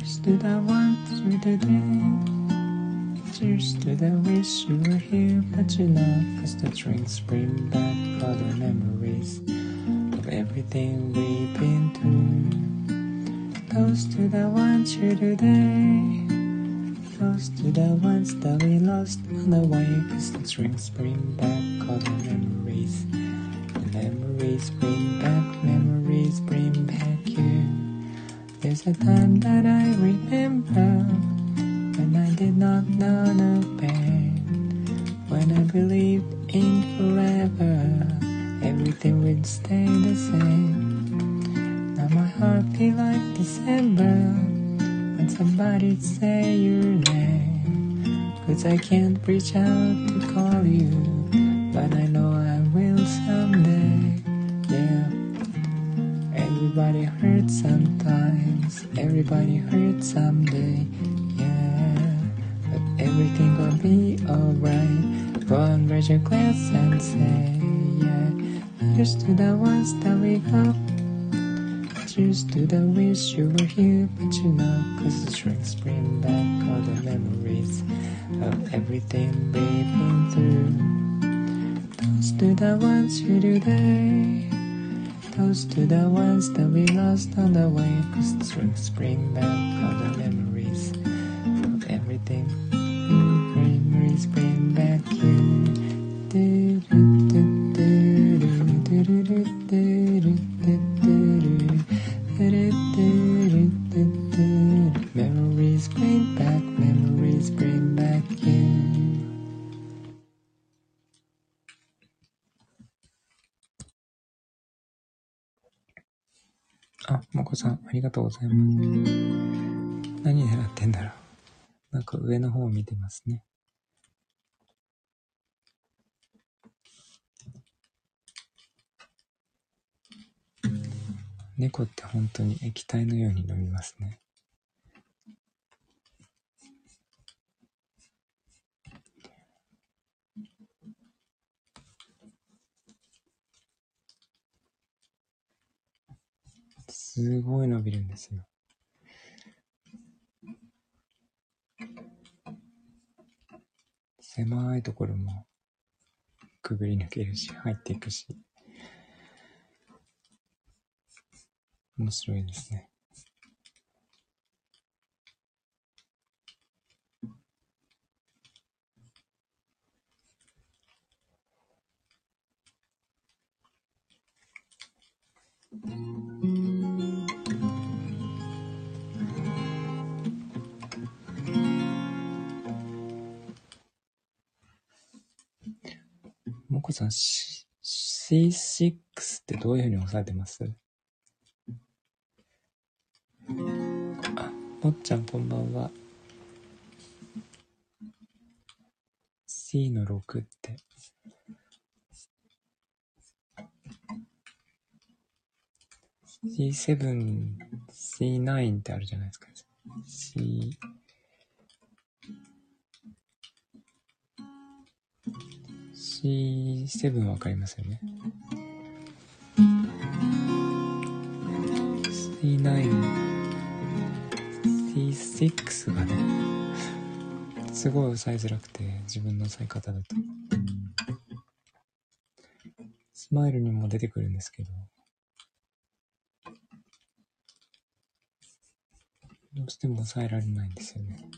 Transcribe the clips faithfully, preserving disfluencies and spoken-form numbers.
Cheers to the one through the day. Cheers to the wish you were here, but you're not. Cause the drinks bring back all the memories of everything we've been through. Toast to the ones here today. Toast to the ones that we lost on the way. Cause the drinks bring back all the memories. The memories bring back, memories bring back you. There's a time that I remember when I did not know no pain, when I believed in forever, everything would stay the same. Now my heart feel like December when somebody say your name. Cause I can't reach out to call you, but I know I will someday. Yeah. Everybody hurts sometimes, everybody hurts someday. Everything gonna be alright. Go and raise your glass and say, yeah. Cheers to the ones that we got. Cheers to the wish you were here, but you're not. Cause the drinks bring back all the memories of everything we've been through. Toast to the ones here today. Toast to the ones that we lost on the way. Cause the drinks bring back all the memories of everything. Memories bring back you. Do, do, do, do, do, do, do, do, do, do. Memories bring back, memories bring back you. あ、もこさん、ありがとうございます。何狙ってんだろう。なんか上の方を見てますね。猫って本当に液体のように飲みますね。すごい伸びるんですよ。狭いところもくぐり抜けるし、入っていくし。面白いですね。もこさん、シーシックス ってどういうふうに押さえてます？あ、もっちゃんこんばんは。C のろくって。シーセブン、シーナイン ってあるじゃないですか。C、シーセブン わかりますよね。シーナイン、シーシックス がね、すごい押さえづらくて、自分の押さえ方だと。スマイルにも出てくるんですけど、どうしても抑えられないんですよね。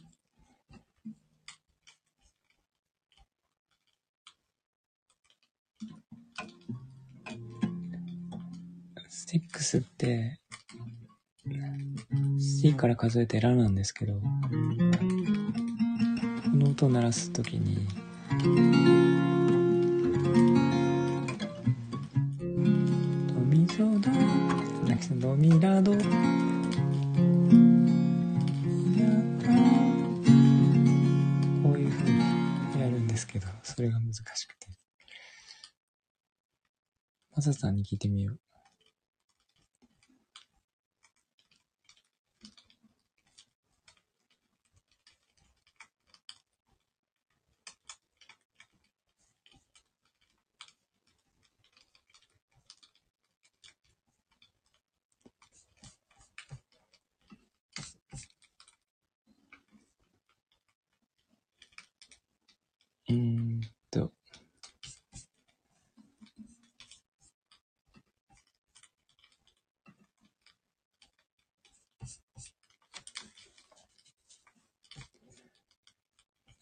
シックスって C から数えてラなんですけど、この音を鳴らすときにドミソドドミラドこういう風にやるんですけど、それが難しくて。マサさんに聞いてみよう。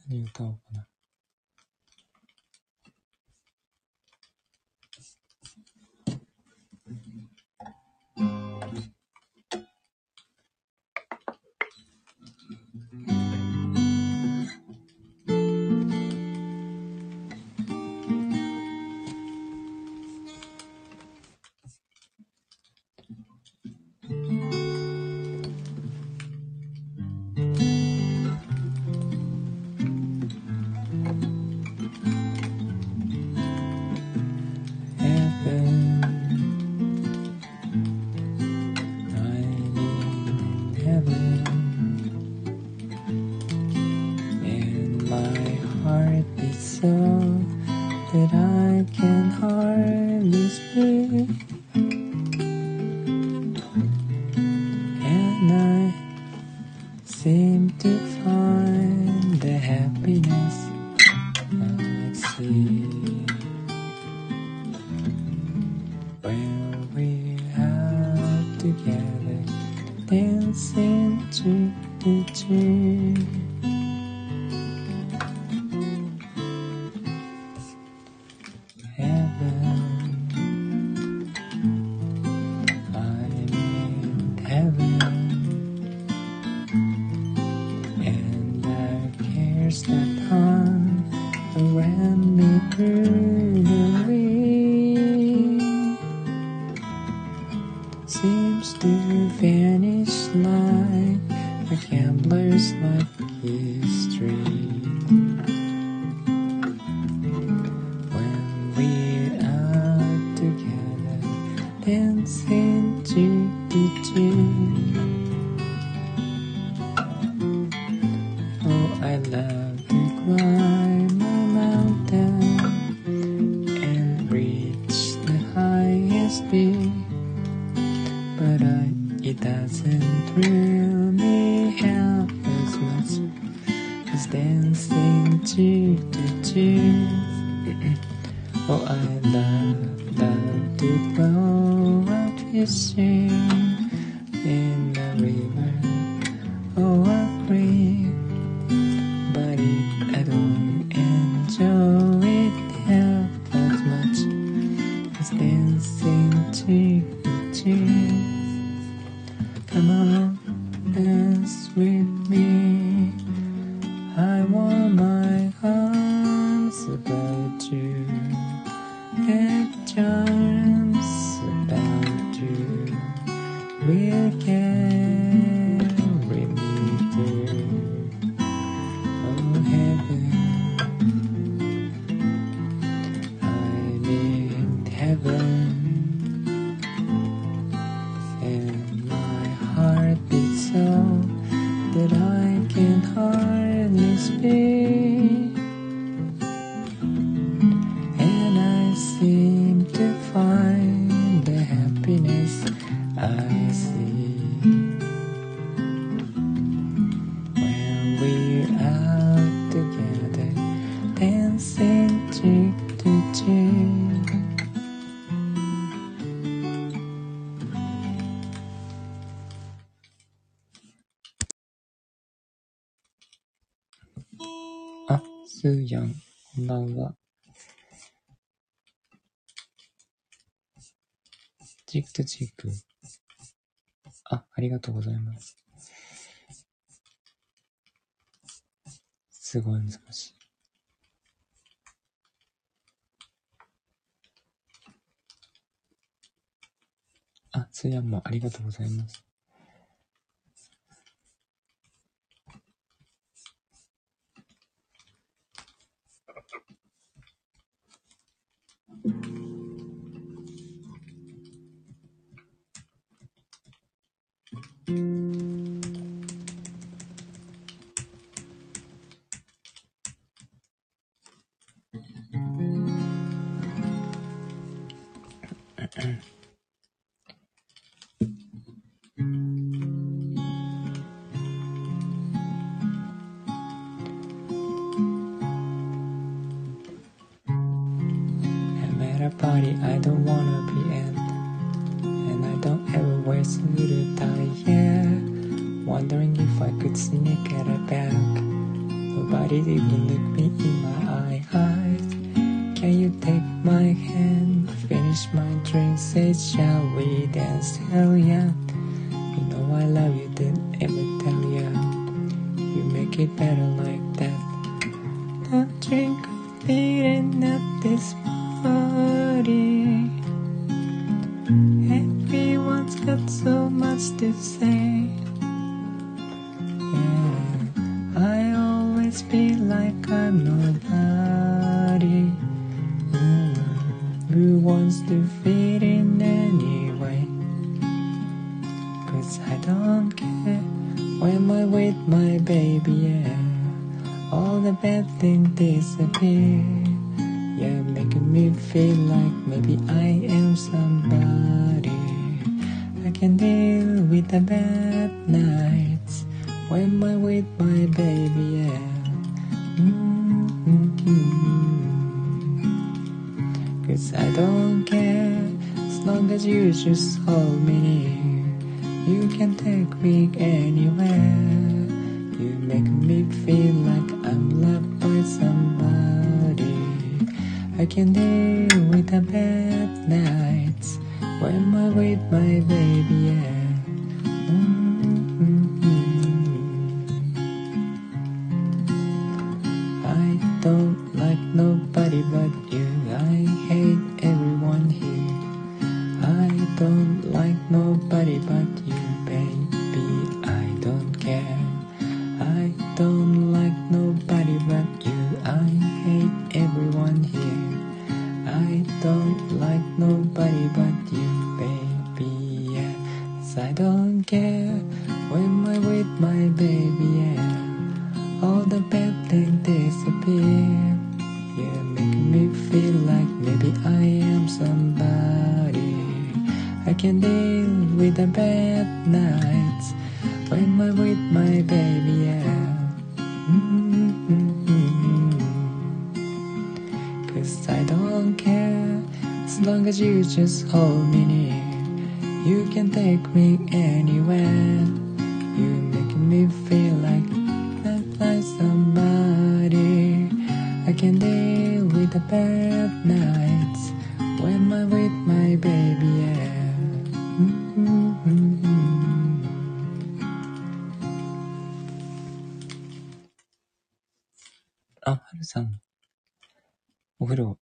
何歌おうかな。That I can hardly speak, and I seem to find the happiness I see when we're out together, dancing to the tree. Seems to vanish like a gambler's lucky streak. When we're out together, dancing cheek to cheek. Oh, I love to climb a mountain and reach the highest peak. But I, it doesn't thrill me half as much as dancing cheek to cheek. Oh, I love, love to go out fishing in the river or a creek. But if I don't enjoy it half as much as dancing cheek to cheek. Come on, dance with me. I want my arms about you, and charms about you will carry me through. Oh heaven, I'm in heaven. That I can hardly speak, and I seem to find the happiness I see when we're out together, dancing cheek to cheek.あ、スーヤン、こんばんは。チークとチーク。あ、ありがとうございます。すごい難しい。あ、スーヤンもありがとうございます。Party I don't wanna be in, and I don't ever wear suit tie, yeah. Wondering if I could sneak at a back Nobody even look me in my eyes. Can you take my hand, finish my drink, say shall we dance? Hell yeah, you know I love you, didn't ever tell ya. You make it better like that. Don't drink beating at this party. Everyone's got so much to say. Yeah, I always feel like I'm nobody. Mm, who wants to fit in anyway? Cause I don't care when I'm with my baby, yeah. All the bad things disappear. Yeah, making me feel like maybe I am somebody. I can deal with the bad nights when I'm with my baby, yeah. Mm-hmm. Cause I don't care as long as you just hold me near. You can take me anywhere. You make me feel like I'm loved by somebody. I can deal with the bad nights when I'm with my baby, yeah. Mm-hmm. I don't like nobody but you. I hate everyone here. I don't like nobody but you, baby. I don't care. I don't like nobody but you. I hate everyone here. I don't like nobody but you, baby, yeah. 'Cause I don't care when I'm with my baby, yeah. All the bad things disappear. Yeah, making me feel like maybe I am somebody. I can deal with the bad nights when I'm with my baby, yeah. Mm-hmm. Cause I don't care as long as you just hold me near. You can take me anywhere. You're making me feel like I'm like somebody. I can deal with the bad nights when I'm with my baby, yeah. Mm-hmm. あ、はるさん、お風呂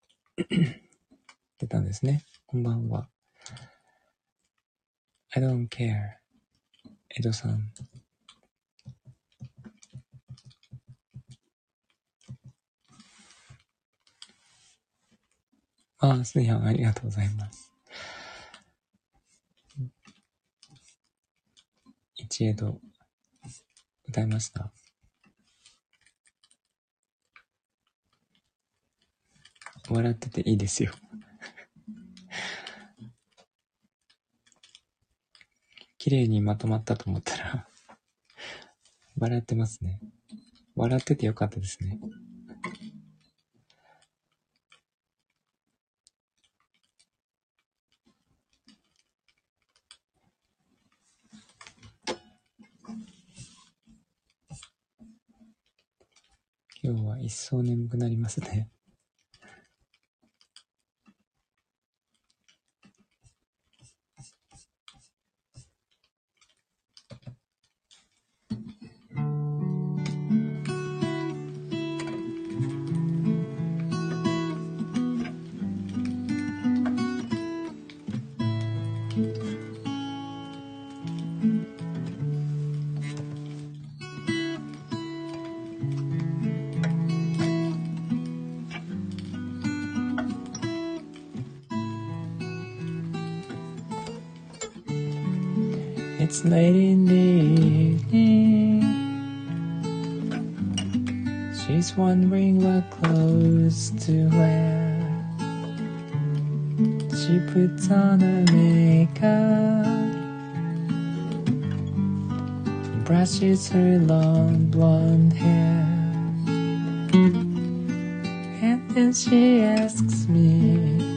出たんですね。こんばんは。I don't care。江戸さん。ああ、すいやん、ありがとうございます。一江戸、歌いました。笑ってていいですよ。綺麗にまとまったと思ったら笑ってますね。笑っててよかったですね。今日は一層眠くなりますね。It's late in the evening. She's wondering what clothes to wear. She puts on her makeup, brushes her long blonde hair, and then she asks me,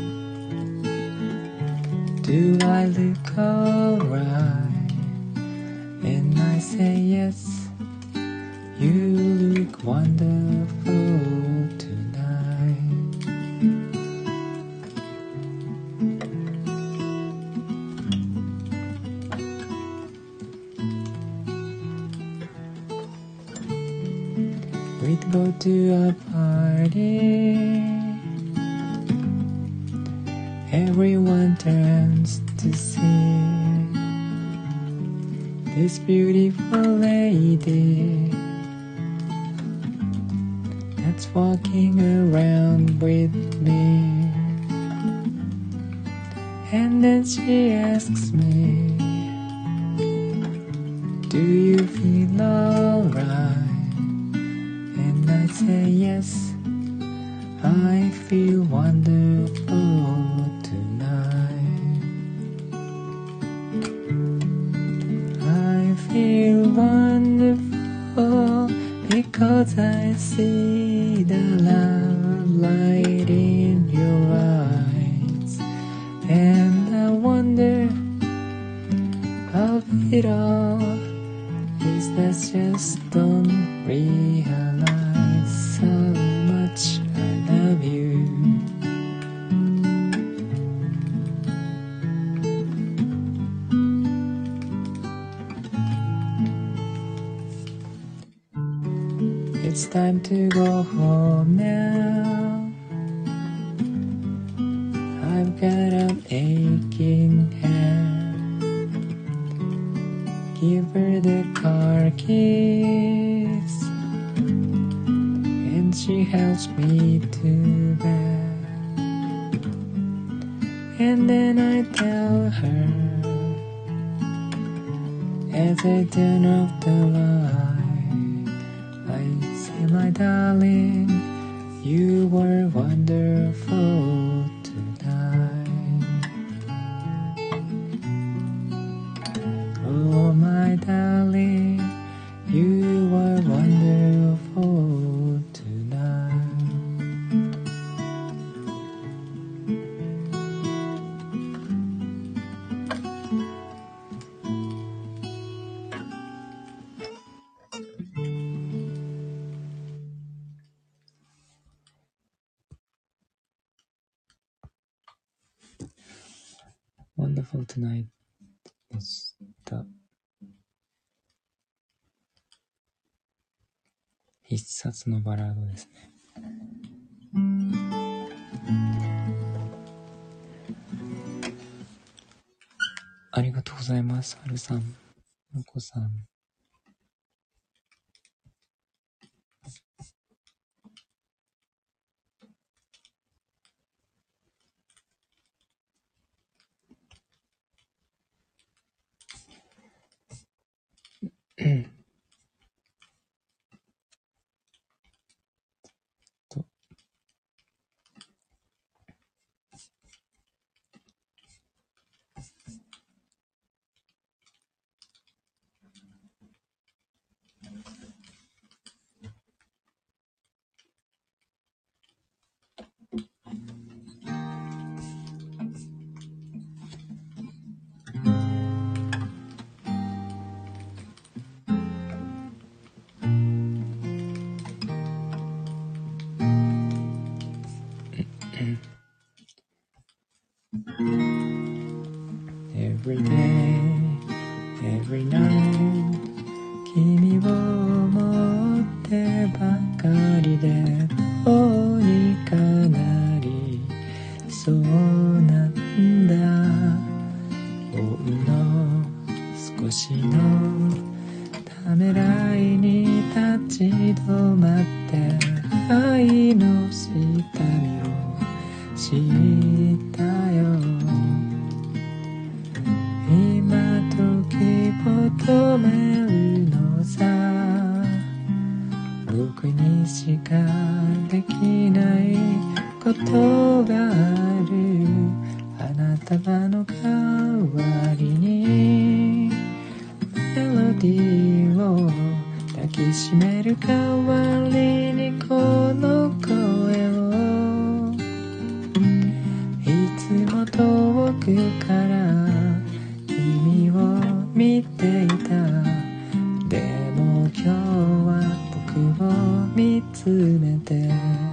do I look alright? And I say yes, you look We'd go to a party. Everyone turns to see this beautiful lady that's walking around with me. And then she asks me, do you feel alright? And I say yes, I feel wonderful tonight. I feel wonderful because I see the love light in your eyes. And I wonder of it all is that just don't realize how much I love you. It's time to go home now. I've got an aching head. Give her the car keys, and she helps me to bed. And then I tell her, as I turn off the light, I say, my darling, you were wonderful tonight. Oh, my darling, you were wonderful tonight. Wonderful tonight でした。必殺のバラードですね。ありがとうございます。はるさん、のこさん。とEvery day, every night 君を思ってばかりでどうにかなりそうなんだほんの少しのためらいに立ち止まって愛の下見をしたよ今時求めるのさ僕にしかできないことがあるあなたの代わりにメロディーを抱きしめる代わりにこの声をいつも遠くから君を見ていたでも今日は僕を見つめて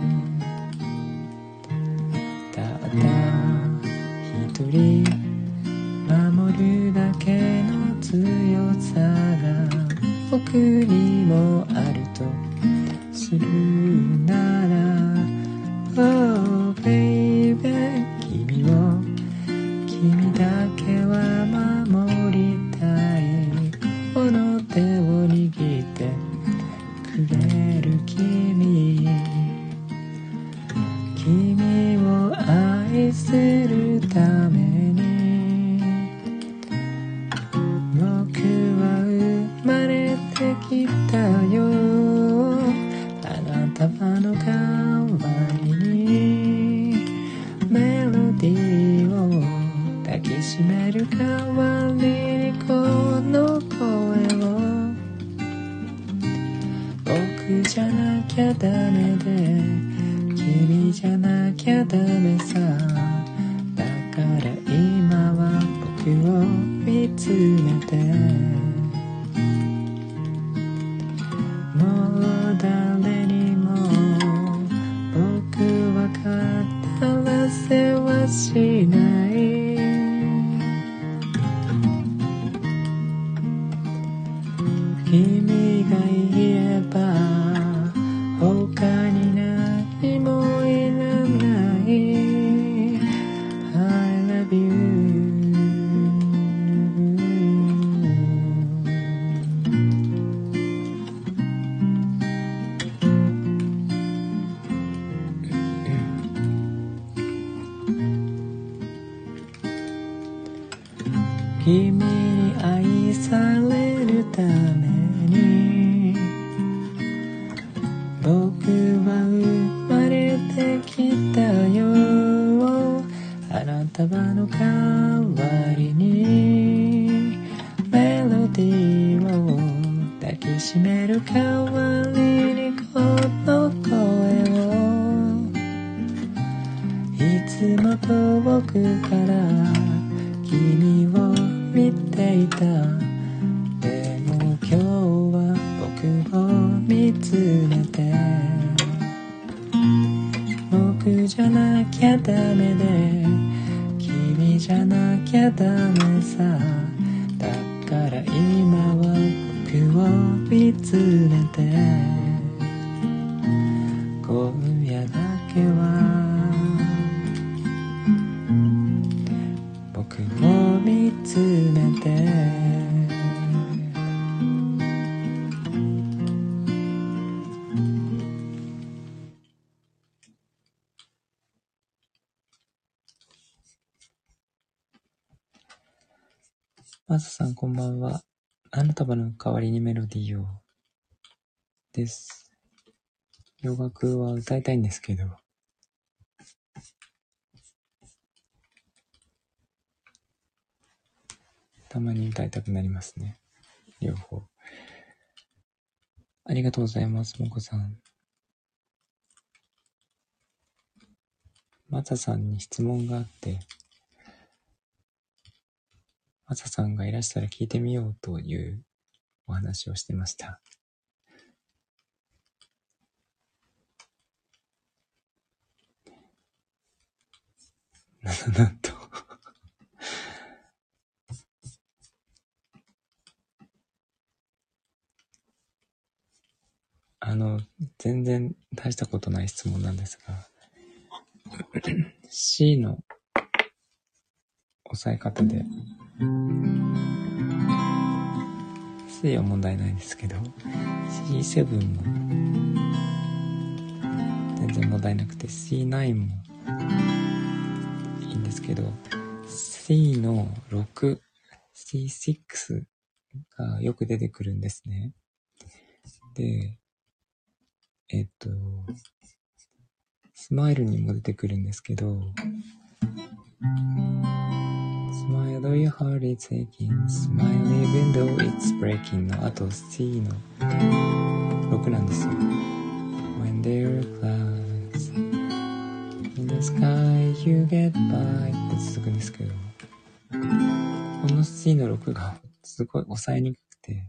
ただ一人守るだけの強さが僕にもあると信するなら Oh baby 君を君だけは守りたいこの手を握ってくれる君君を愛するために僕は生まれてきたよ花束の代わりにメロディーを抱きしめる代わりにこの声を僕じゃなきゃダメで君じゃなきゃダメさだから今は僕を見つめてもう誰にも僕は語らせはしない君が言えば他に何もいらない I love you君に愛されるために僕は生まれてきたよ花束の代わりにメロディーを抱きしめる代わりにこの声をいつも遠くから君を見ていたでも今日は僕を見つめて僕じゃなきゃダメで君じゃなきゃダメさだから今は僕を見つめて今夜だけは僕を見つめてマサさんこんばんは。花束の代わりにメロディーをです。洋楽は歌いたいんですけどたまに歌いたくなりますね。両方。ありがとうございます、もこさん。マサさんに質問があって、マサさんがいらしたら聞いてみようというお話をしてました。なんとあの全然大したことない質問なんですがC の押さえ方で C は問題ないんですけど シーセブン も全然問題なくて シーナイン もいいんですけど C のろく シーシックス がよく出てくるんですね。でえっとスマイルにも出てくるんですけど Smile though your heart is aching Smile even though it's breaking のあと C のろくなんですよ。 When there are clouds in the sky you get by って続くんですけどこの C のろくがすごい抑えにくくて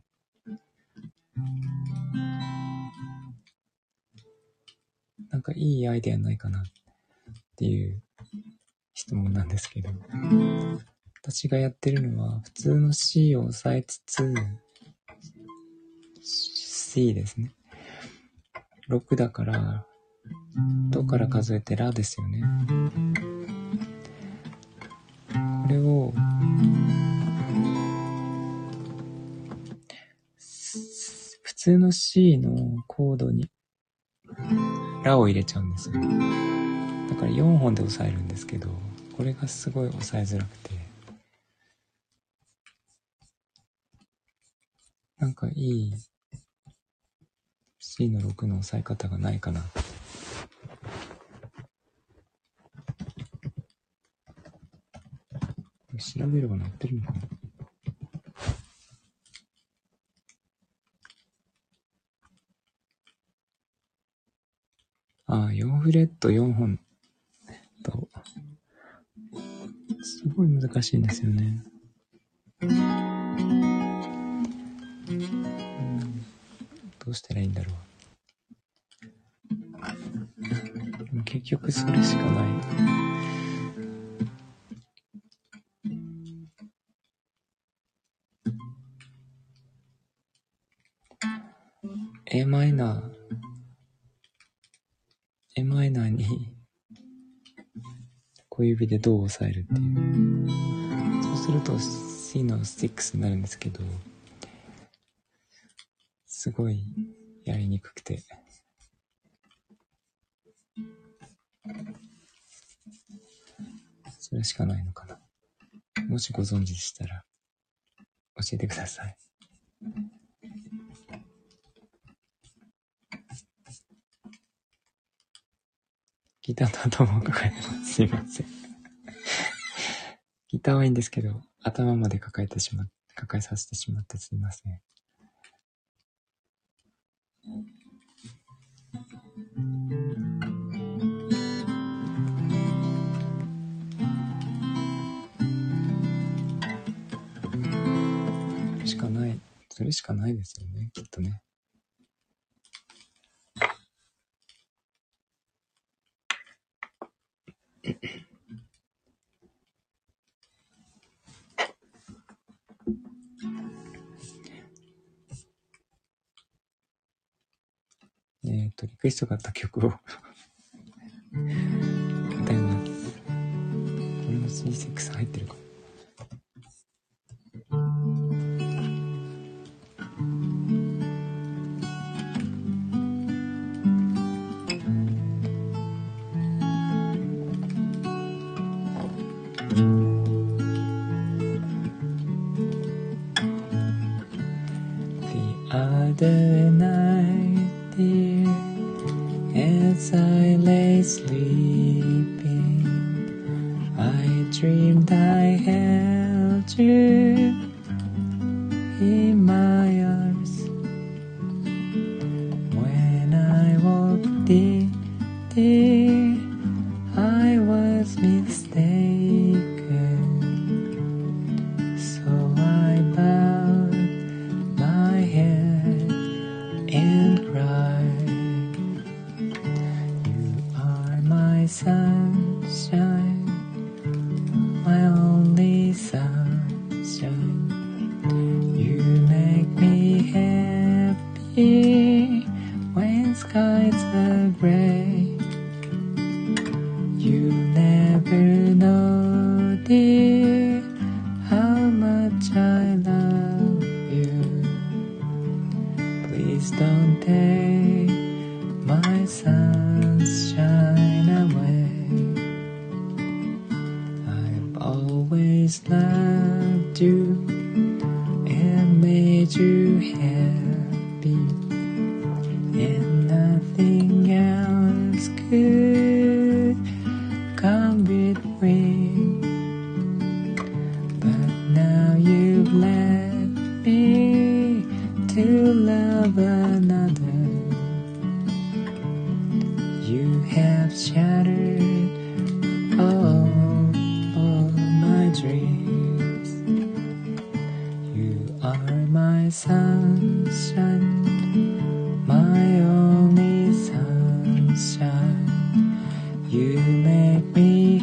なんかいいアイデアないかなっていう質問なんですけど私がやってるのは普通の C を押さえつつ C ですねろくだから、どから数えてラですよね。これを、普通の C のコードにラを入れちゃうんですよ。だからよんほんで押さえるんですけど、これがすごい押さえづらくて、なんかいい C のろくの押さえ方がないかな。調べれば載ってるのかな。ああ、よんフレットよんほんと、すごい難しいんですよね。うん、どうしたらいいんだろう。でも結局それしかない。A マイナー、A マイナーに小指でドを押さえるっていう。そうすると C のろくになるんですけど、すごいやりにくくて。それしかないのかな。もしご存知でしたら教えてください。ギターと頭を抱えてます。すいません。ギターはいいんですけど、頭まで抱えてしまっ、抱えさせてしまってすいません。それしかない、それしかないですよね、きっとね。えっと、リクエストがあった曲を歌います。これも シーシックス 入ってるかも。The other night, dear, as I lay sleeping, I dreamed I held you in my arms. When I woke, dear, dear, I was mistaken. So I bowed my head and cried. You are my sunshine, my only sunshine. You make me happy when skies are gray. You never know, dear, how much I love you. Please don't take my sunshine away. I've always loved you and made you happy, and nothing else could come between. But now you've left me to love another. You have shattered all, all my dreams. You are my sunshine, my only sunshine. You make me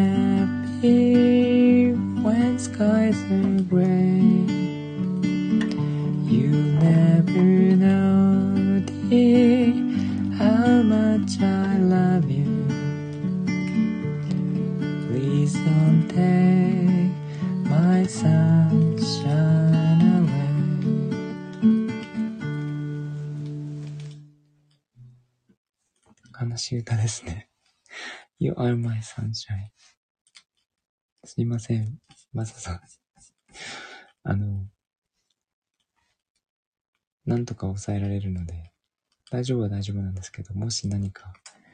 happy when skies are gray. You never know, dear, much I love you. Please don't take my sunshine away. 悲しい歌ですね。You are my sunshine. すいません、マサさん。あの、なんとか抑えられるので、大丈夫は大丈夫なんですけど、もし何か、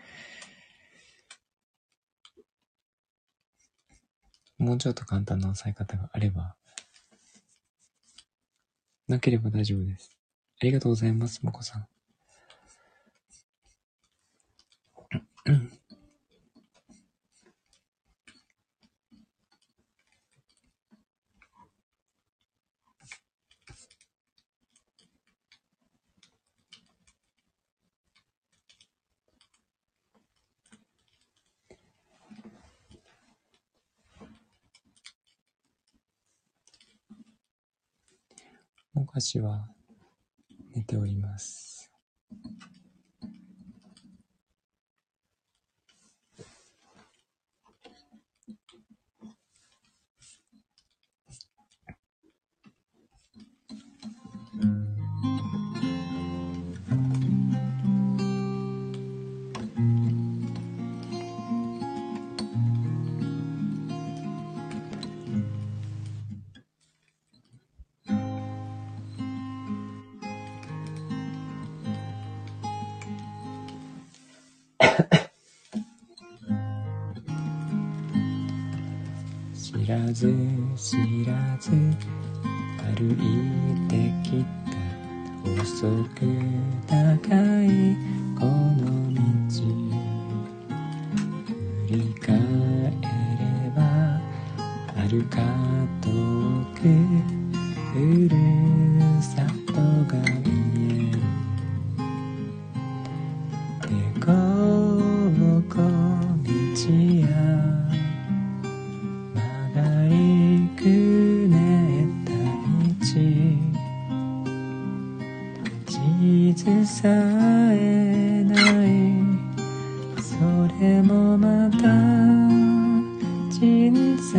もうちょっと簡単な抑え方があれば、なければ大丈夫です。ありがとうございます、もこさん。もかしは寝ております。知らず知らず歩いてきた細く高いこの道、振り返れば遥か遠くふるさとが見える。でこぼこ道や地図さえないそれもまた人生。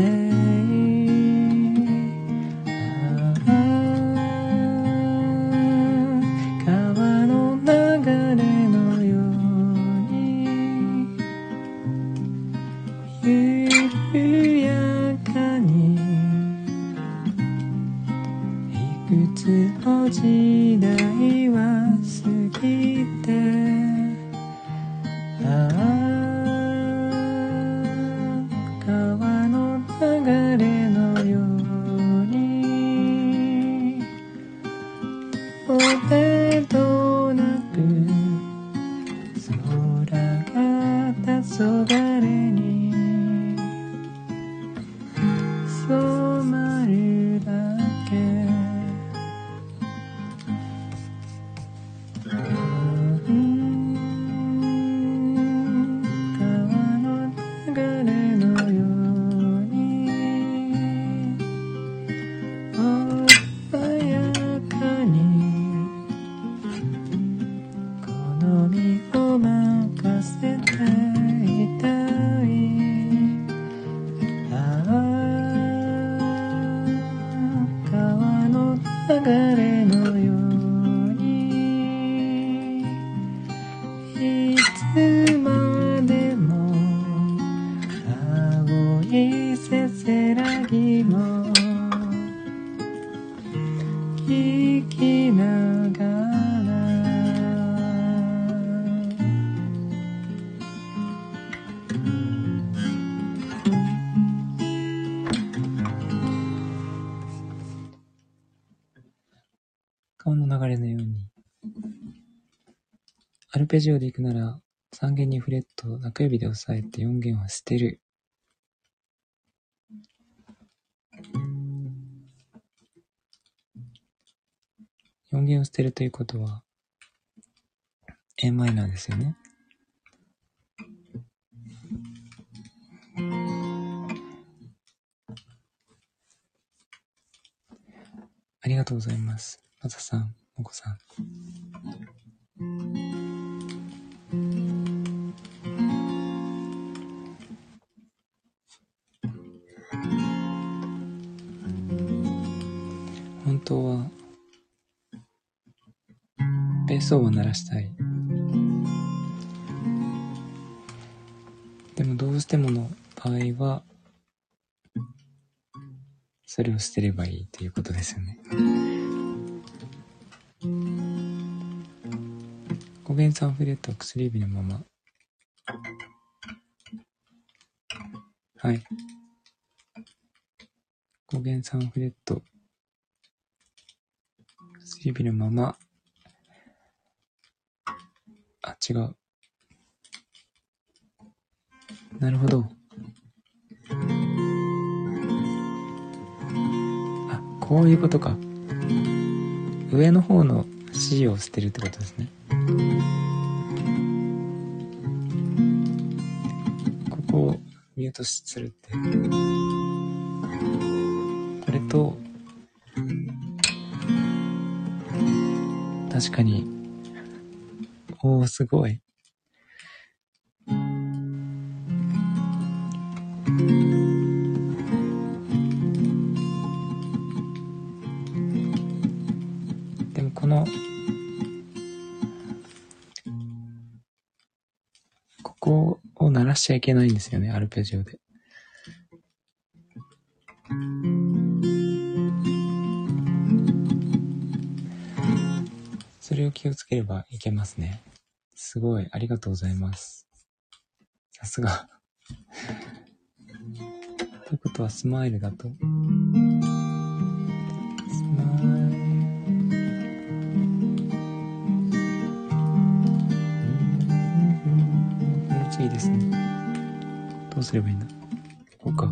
ああ川の流れのように緩やかにいくつの時代は過ぎて、ああ川の流れのようにどれとなく空が黄昏に染まるだけ。川の流れのようにアルペジオで行くならさん弦にフレットを中指で押さえてよん弦は捨てる。よん弦を捨てるということは A マイナーですよね。ありがとうございます。まささん、もこさん。 清掃を鳴らしたい。でもどうしてもの場合はそれを捨てればいいということですよね。語源サンフレットは薬指のまま。はい。語源サンフレット薬指のまま。あ、違う。なるほど。あ、こういうことか。上の方の C を捨てるってことですね。ここをミュートするって。これと、確かに、おー、すごい。でもこのここを鳴らしちゃいけないんですよね、アルペジオで。それを気をつければいけますね。すごい、ありがとうございます。さすが。ということはスマイルだと。スマイル。この次ですね。どうすればいいんだ。こうか。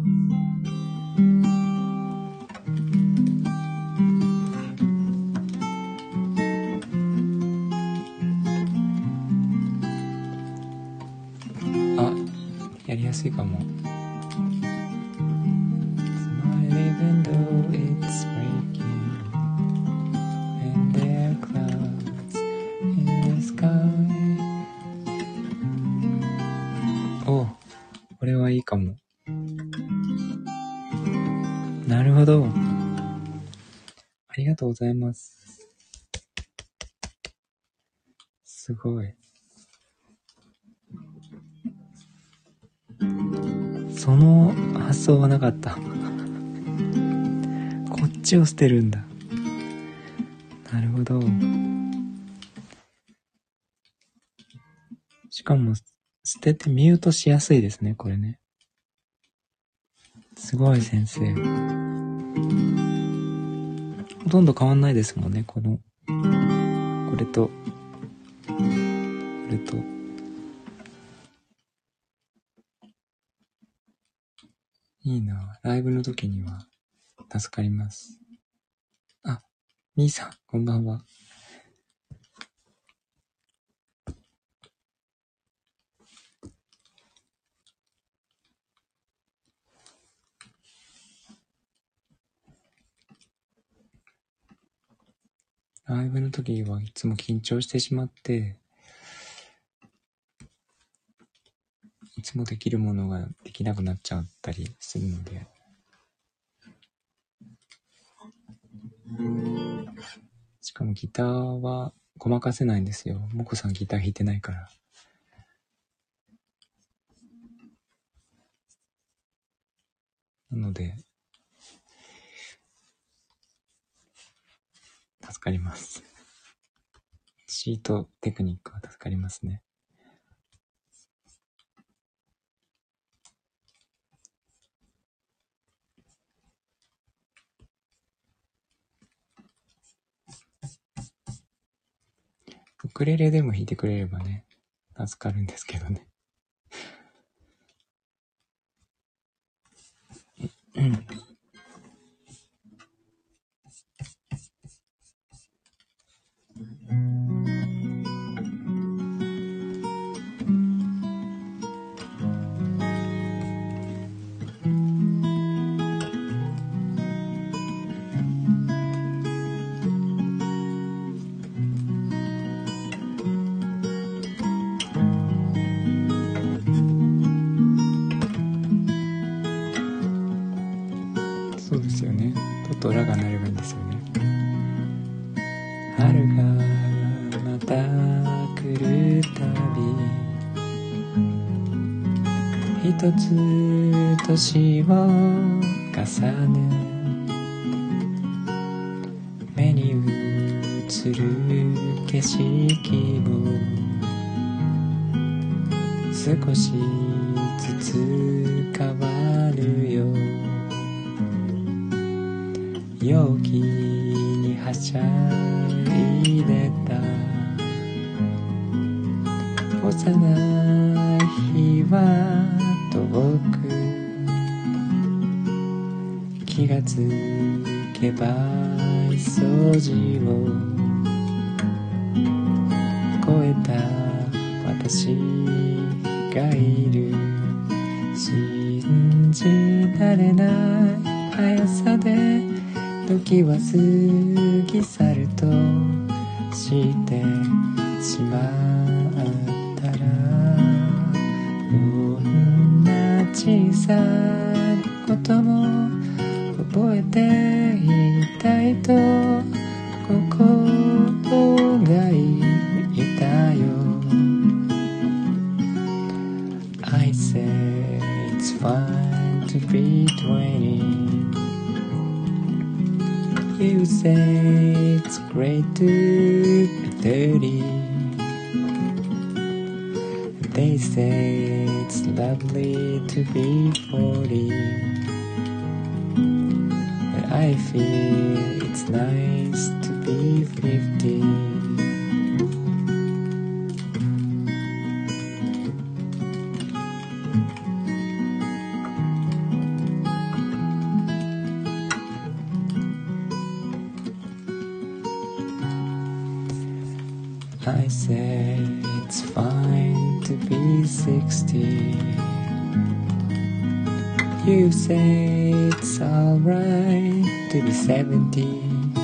あ、やりやすいかも。Even though it's breaking and there are clouds in the sky。 お、これはいいかも。なるほど。ありがとうございます。すごい。その発想はなかった。こっちを捨てるんだ。なるほど。しかも捨ててミュートしやすいですね、これね。すごい先生。ほとんど変わんないですもんね、このこれとこれと。いいな、ライブの時には助かります。あ、みーさん、こんばんは。ライブの時はいつも緊張してしまって、いつもできるものができなくなっちゃったりするので、しかもギターはごまかせないんですよ。もこさんギター弾いてないから。なので助かります。シートテクニックは助かりますね。ウクレレでも弾いてくれればね、助かるんですけどね。うん。そうですよね。ととらが鳴ればいいんですよね。春がまた来るたび一つ年を重ね目に映る景色も少しずつ変わるよ陽気にはしゃいでた幼い日は遠く気がつけば掃除を超えた私がいる信じられない速さで時は過ぎ去るとしてしまったらどんな小さなことも覚えていたいと心が言ったよ I say it's fine to be twenty You say it's great to be thirty They say it's lovely to be forty But I feel it's nice to be fifty I say it's fine to be sixty You say it's alright to be seventy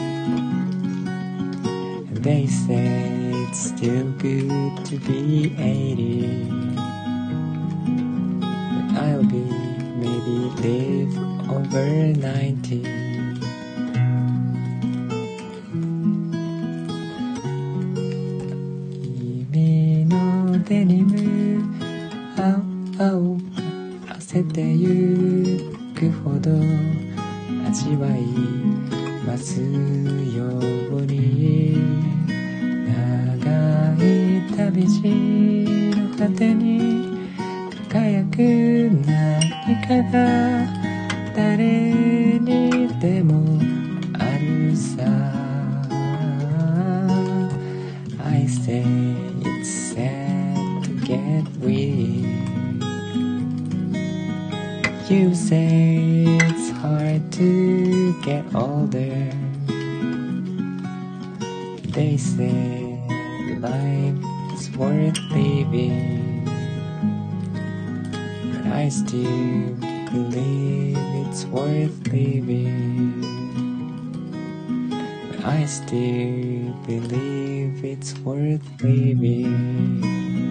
And they say it's still good to be eighty But I'll be maybe live over ninetyデニム青く汗てゆくほど味わいますように長い旅路の果てに輝く何かが誰にでもあるさ I say it's sad get weak You say it's hard to get older They say life is worth living But I still believe it's worth living But I still believe it's worth living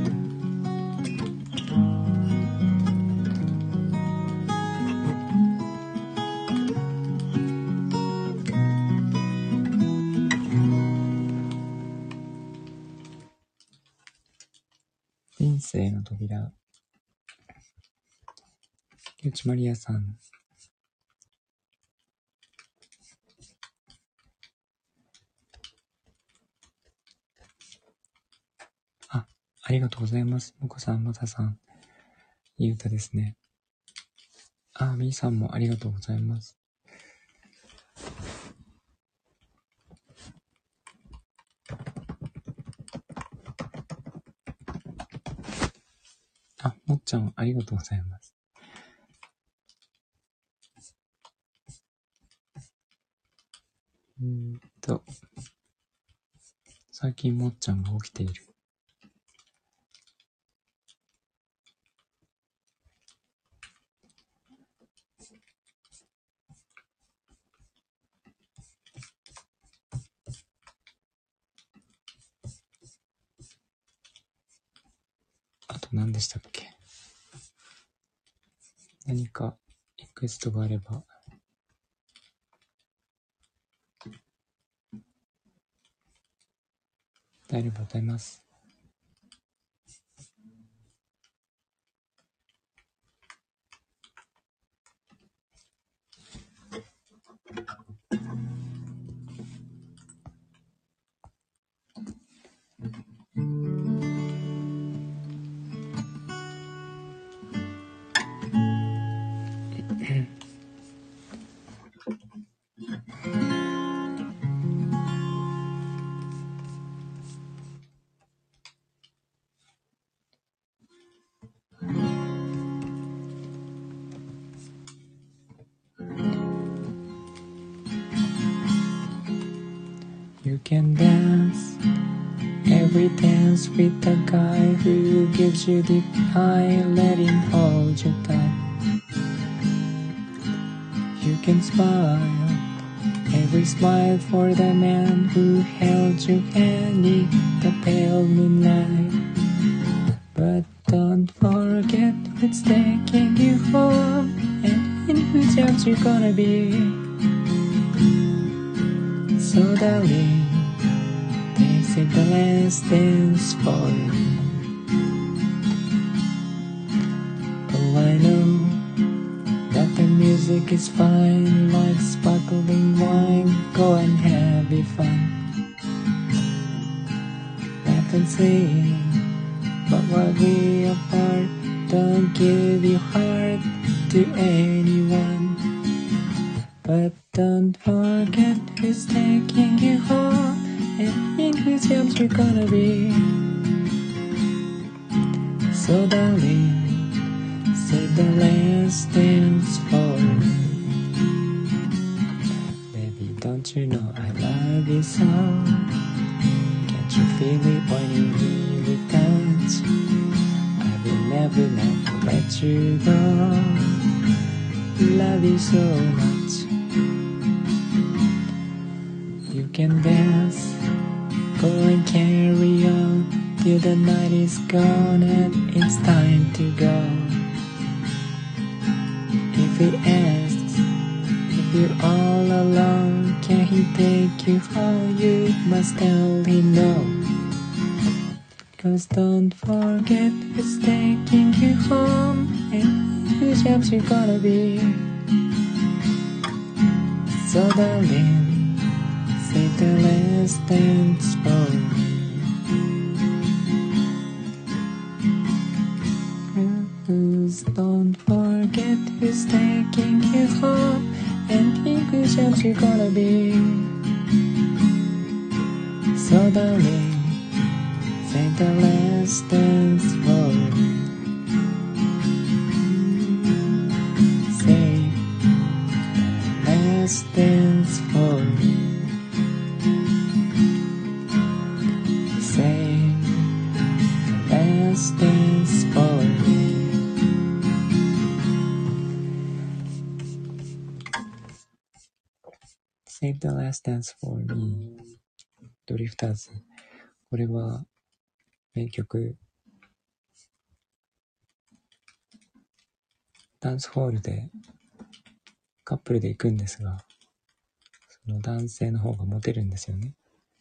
人生の扉竹内まりやさんあ、ありがとうございますもこさん、またさんいい歌ですねあ、みーさんもありがとうございますあ、もっちゃんありがとうございますうーんと最近もっちゃんが起きているあと何でしたっけ何かリクエストがあればありがとうございます。You can dance every dance with the guy who gives you the eye, let him hold you tight. You can smile every smile for the man who held your hand in the pale moonlight. But don't forget who's taking you home and in whose arms you're gonna be. So darling, this is the last dance for you. Oh, I know that the music is fine, like sparkling wine. Go and have it fun. Laugh and sing, but while we apart, don't give your heart to anyone. But don't forget who's taking you home and in whose arms you're gonna be. So darling, save the last dance for me. Baby, don't you know I love you so? Can't you feel it when you really touch? I will never, never let you go. Love you so much. You can dance, go and carry on till the night is gone and it's time to go. If he asks if you're all alone, can he take you home? You must tell him no. Cause don't forget who's taking you home and whose arms you're gonna be. So darling, save the last dance for me. Don't forget who's taking you home and in whose arms you're gonna be. So darling, save the last dance for me. Save the last dance for me. Save the last dance for me. Save the last dance for me. ドリフターズ。これは名曲。ダンスホールでカップルで行くんですが、その男性の方がモテるんですよね。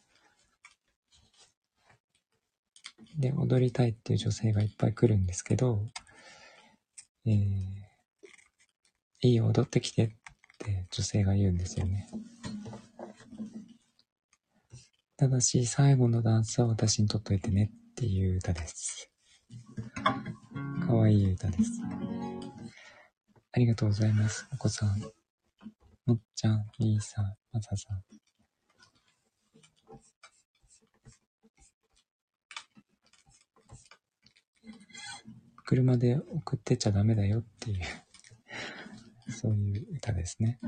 で、踊りたいっていう女性がいっぱい来るんですけど、えー、いいよ踊ってきてって女性が言うんですよね。ただし最後のダンスは私にとっといてねっていう歌です。かわいい歌です。ありがとうございます。お子さん、もっちゃん、みーさん、まささん。車で送ってちゃダメだよっていうそういう歌ですね。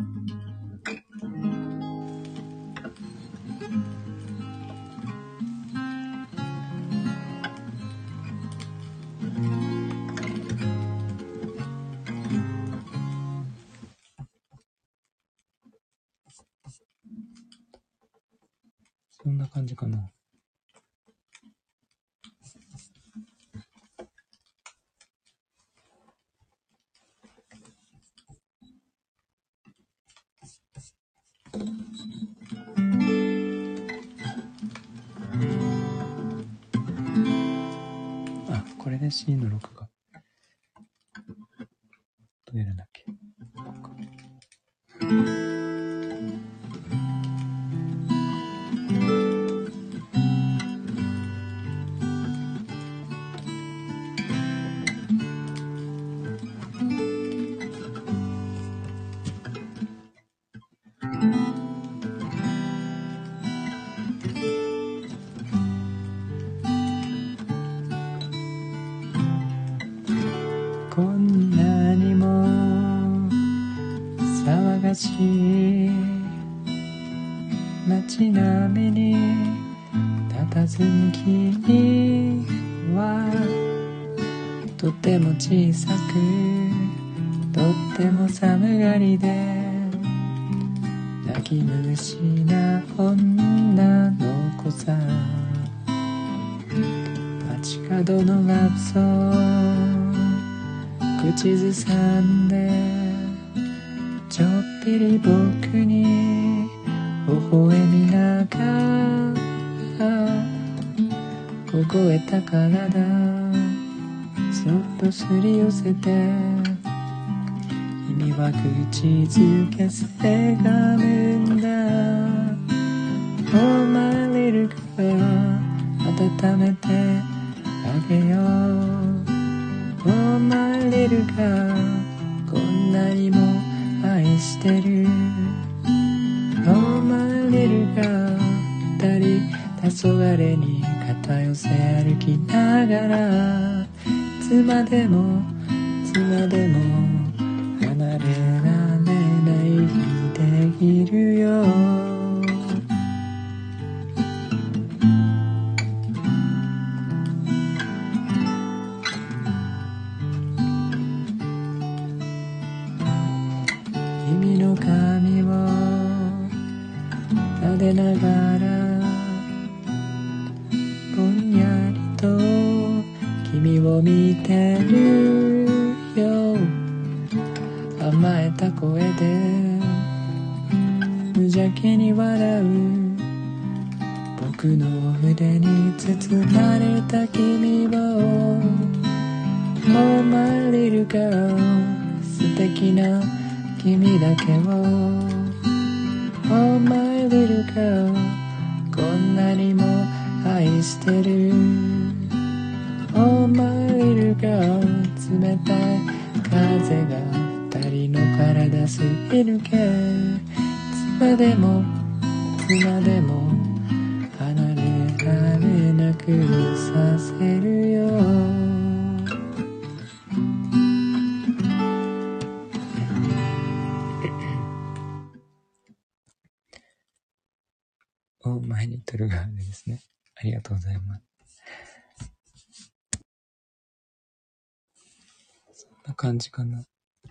そんな感じかな。 で C のろくがどうやるんだっけ。こんなにも騒がしい街並みに佇む君はとても小さくとっても寒がりで泣き虫な女の子さ。街角のラブソング口ずさんでちょっぴり僕に微笑みながら凍えた体そっとすり寄せて君は口づけせがむんだ。 Oh my little girl 温めてあげよう。 Oh my little girl こんなにも愛してる。 Oh my little girl 二人黄昏に肩寄せ歩きながらいつまでもいつまでも離れられない日でいるよ。君の髪を撫でながらぼんやりと君を見てるよ。甘えた声で無邪気に笑う僕の腕に包まれた君を Oh my little girl 素敵な君だけを Oh my little girl こんなにも愛してる。 Oh my little girl 冷たい風が二人の体すり抜けいつまでもいつまでも離れられなくさせるよ。お前にとるがあれですね。ありがとうございます。そんな感じかな。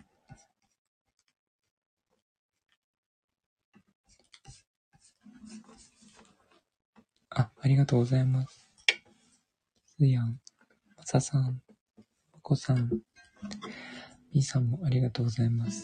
あ、ありがとうございます。すやん、まささん、まこさん、みーさんもありがとうございます。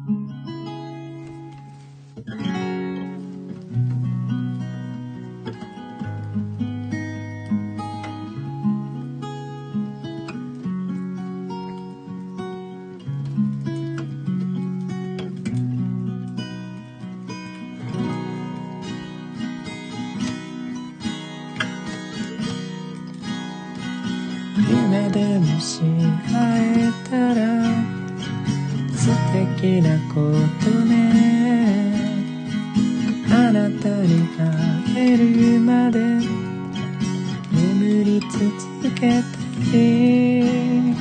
夢でもし会えたら素敵なことね。あなたに会えるまで眠り続けたい。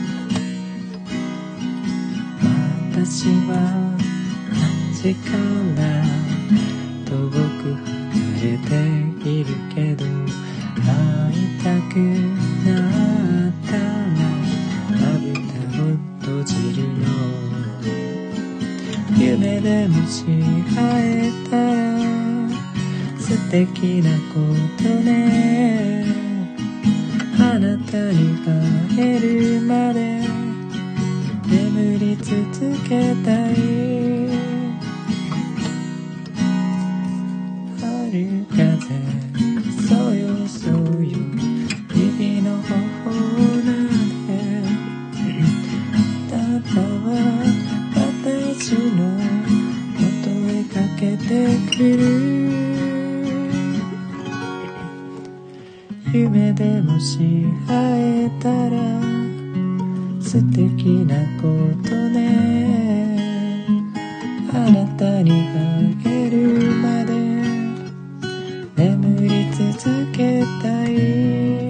私は街から遠く離れているけど会いたくなったらまぶたを閉じるの。夢でもし会えたら素敵なことね。あなたに会えるまで眠り続けたい。春風そよそよ君の頬を夢でもし会えたら素敵なことね。あなたに会えるまで眠り続けたい。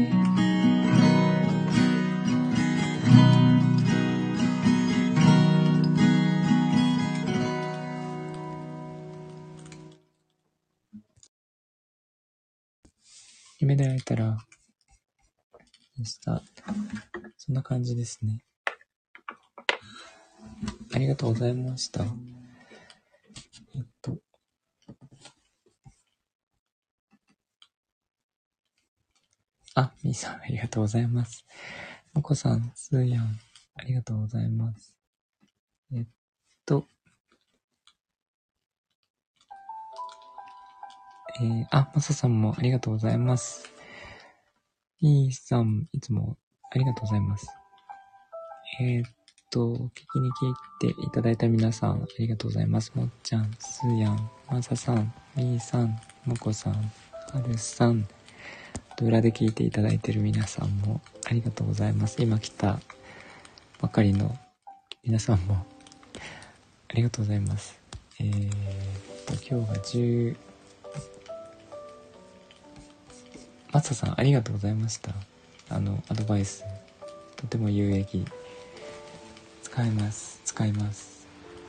夢で会えたらでした。そんな感じですね。ありがとうございました。えっとあ、みーさんありがとうございます。もこさん、すーやんありがとうございます。えっとえー、あ、まささんもありがとうございます。みーさん、いつもありがとうございます。えー、っと、聞きに来ていただいた皆さん、ありがとうございます。もっちゃん、すーやん、まささん、みーさん、もこさん、はるさん、裏で聞いていただいている皆さんもありがとうございます。今来たばかりの皆さんもありがとうございます。えー、っと、今日がじゅう、マツさんありがとうございました。あのアドバイスとても有益。使います使います。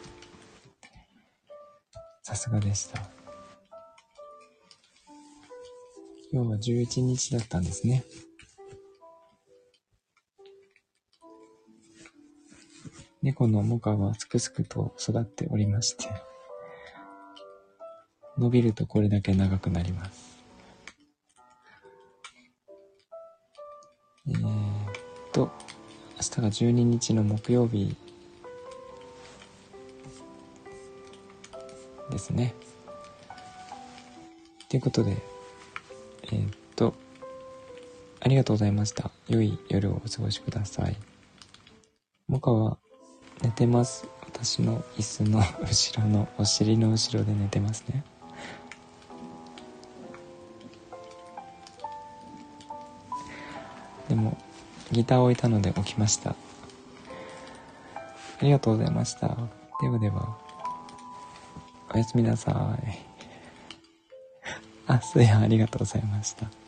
さすがでした。今日はじゅういちにちだったんですね。猫のモカはすくすくと育っておりまして、伸びるとこれだけ長くなります。えーっと明日がじゅうににちの木曜日ですね。ということで、えー、っとありがとうございました。良い夜をお過ごしください。モカは寝てます。私の椅子の後ろのお尻の後ろで寝てますね。でもギターを置いたので起きました。ありがとうございました。ではではおやすみなさい。あ、すやありがとうございました。